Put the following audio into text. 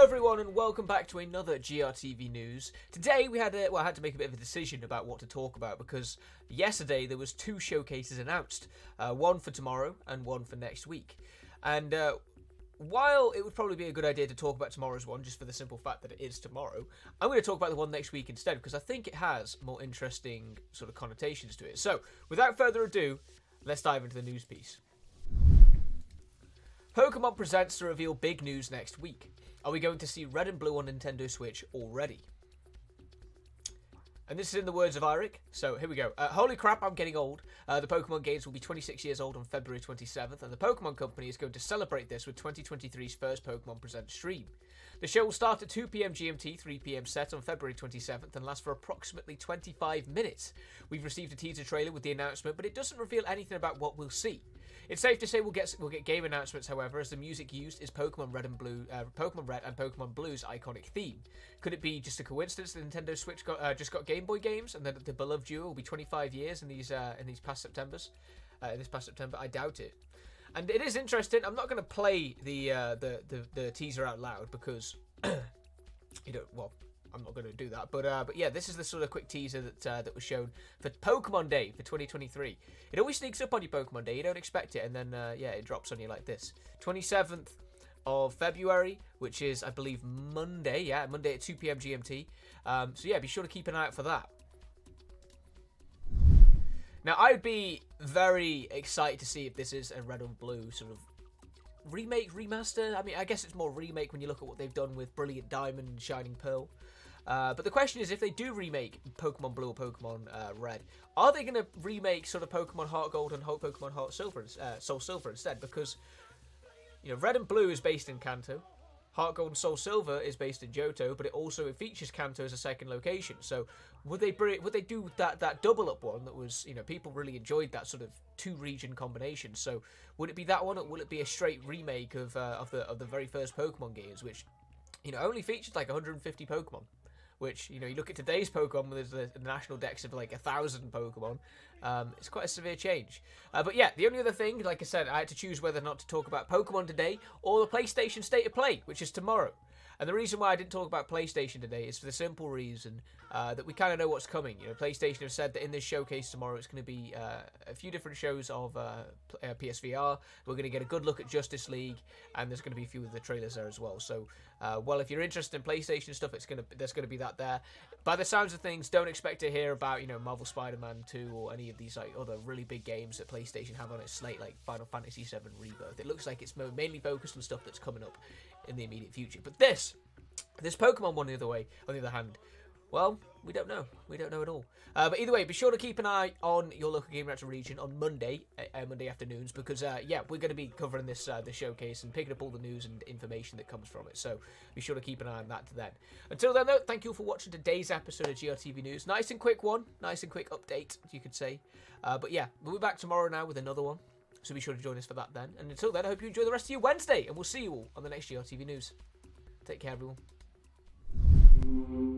everyone, and welcome back to another GRTV News. Today we had I had to make a bit of a decision about what to talk about because yesterday there was two showcases announced, one for tomorrow and one for next week. And while it would probably be a good idea to talk about tomorrow's one, just for the simple fact that it is tomorrow, I'm going to talk about the one next week instead because I think it has more interesting sort of connotations to it. So, without further ado, let's dive into the news piece. Pokemon presents to reveal big news next week. Are we going to see Red and Blue on Nintendo Switch already? And this is in the words of Eric. So here we go. Holy crap, I'm getting old. The Pokemon games will be 26 years old on February 27th, and the Pokemon Company is going to celebrate this with 2023's first Pokemon Present stream. The show will start at 2 PM GMT, 3 PM set on February 27th and last for approximately 25 minutes. We've received a teaser trailer with the announcement, but it doesn't reveal anything about what we'll see. It's safe to say we'll get game announcements, however, as the music used is Pokemon Red and Pokemon Blue's iconic theme. Could it be just a coincidence that Nintendo Switch just got Game Boy games, and that the beloved duo will be 25 years in these past Septembers? This past September, I doubt it. And it is interesting. I'm not going to play the teaser out loud because I'm not going to do that, but yeah, this is the sort of quick teaser that was shown for Pokemon Day for 2023. It always sneaks up on you, Pokemon Day. You don't expect it, and then it drops on you like this. 27th of February, which is, I believe, Monday. Yeah, Monday at 2 PM GMT. So yeah, be sure to keep an eye out for that. Now, I'd be very excited to see if this is a Red and Blue sort of remake, remaster. I mean, I guess it's more remake when you look at what they've done with Brilliant Diamond and Shining Pearl. But the question is, if they do remake Pokemon Blue or Pokemon Red, are they going to remake sort of Pokemon Heart Gold and Pokemon Heart Silver, Soul Silver instead? Because, Red and Blue is based in Kanto. Heart Gold and Soul Silver is based in Johto, but it also features Kanto as a second location. So would they do that double up one that was, people really enjoyed that sort of two region combination? So would it be that one, or will it be a straight remake of the very first Pokemon games, which only featured like 150 Pokemon? Which, you look at today's Pokemon, there's the national dex of like 1,000 Pokemon. It's quite a severe change. But yeah, the only other thing, like I said, I had to choose whether or not to talk about Pokemon today or the PlayStation State of Play, which is tomorrow. And the reason why I didn't talk about PlayStation today is for the simple reason that we kind of know what's coming. PlayStation have said that in this showcase tomorrow it's going to be a few different shows of PSVR. We're going to get a good look at Justice League, and there's going to be a few of the trailers there as well. So, if you're interested in PlayStation stuff, there's going to be that there. By the sounds of things, don't expect to hear about Marvel Spider-Man 2 or any of these like other really big games that PlayStation have on its slate, like Final Fantasy VII Rebirth. It looks like it's mainly focused on stuff that's coming up in the immediate future. But this Pokemon one, on the other hand, well, we don't know. We don't know at all. But either way, be sure to keep an eye on your local Game Reactor region on Monday afternoons, because we're going to be covering this showcase and picking up all the news and information that comes from it. So be sure to keep an eye on that then. Until then, though, thank you for watching today's episode of GRTV News. Nice and quick one, nice and quick update, you could say. But yeah, we'll be back tomorrow now with another one. So be sure to join us for that then. And until then, I hope you enjoy the rest of your Wednesday, and we'll see you all on the next GRTV News. Take care, everyone.